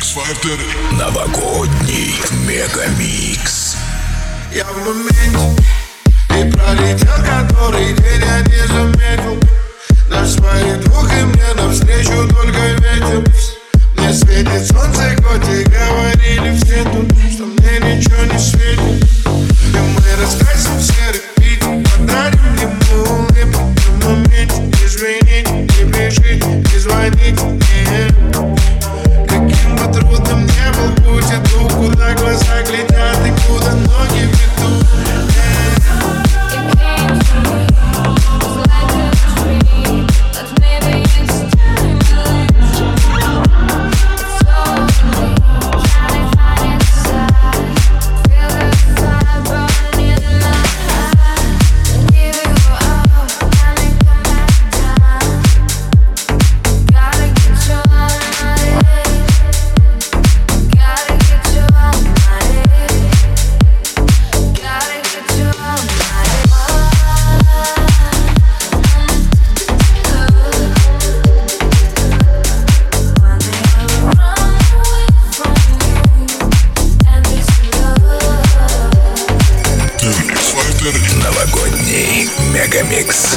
X-Factor. Новогодний мегамикс. Я в моменте и пролетел который день, я не заметил. Наш своих двух и мне навстречу только ветер. Мне светит солнце, хоть и говорили все тут, что мне ничего не светит. И мы раскрасим серый Питер, подарим ему улыбку. В моменте извините, не пишите, не звоните мне. Каким бы трудным не был путь, иду, куда глаза глядят и куда ноги ведут. Новогодний мегамикс.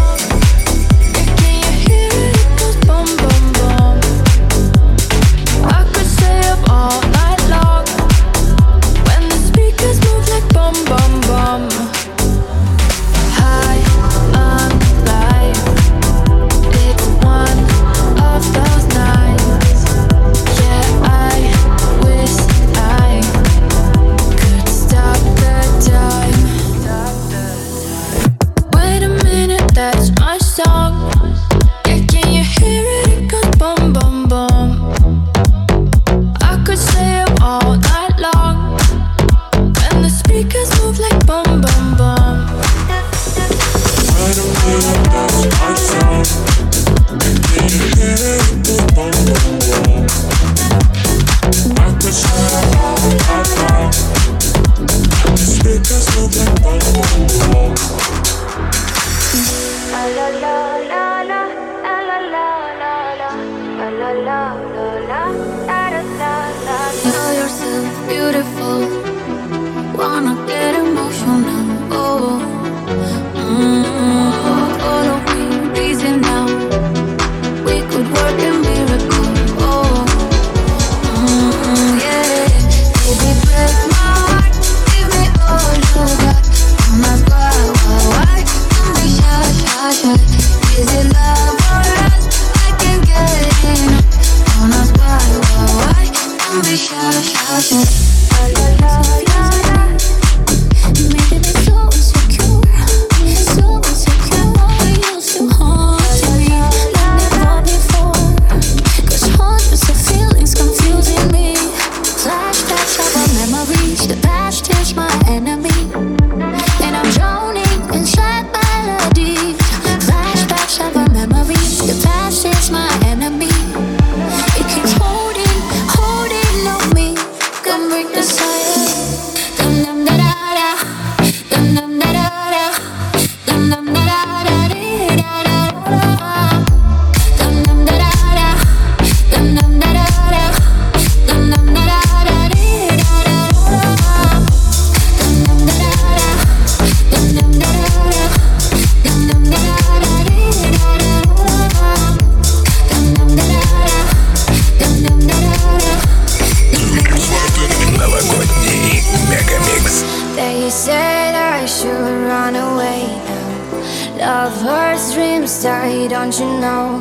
Don't you know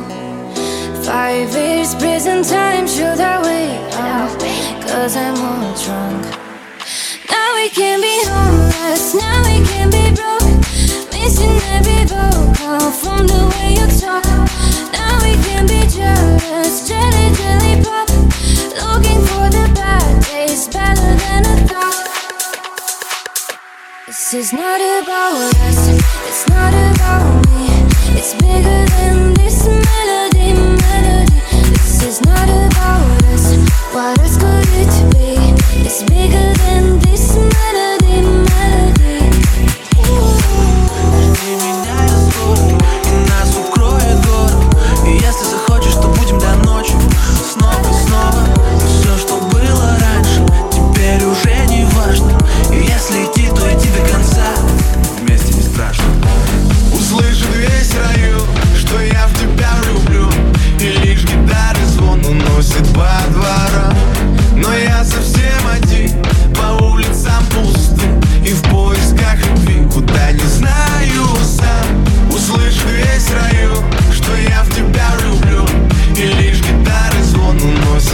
5 years prison time should I wait? Cause I'm all drunk. Now we can be homeless, now we can be broke, missing every vocal from the way you talk. Now we can be jealous, jelly, jelly pop, looking for the bad days, better than I thought. This is not about us, it's not about me. It's bigger than this melody, melody. This is not about us. What else could it be? It's bigger than this melody, melody. Верни меня, я скоро, и нас укроет город. И если захочешь, то будем до ночи. Снова и снова. И все,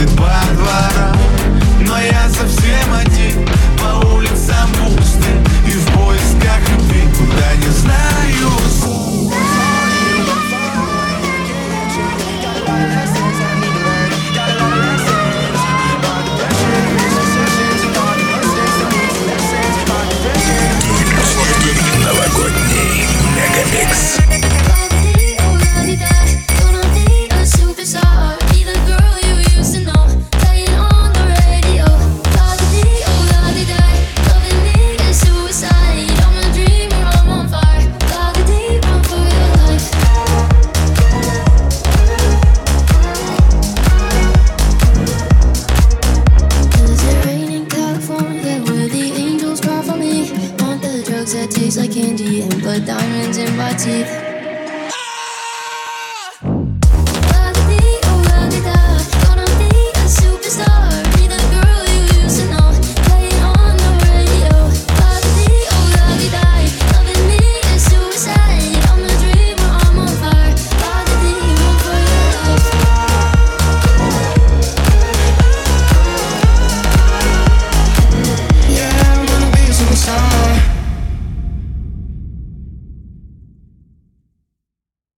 танцует под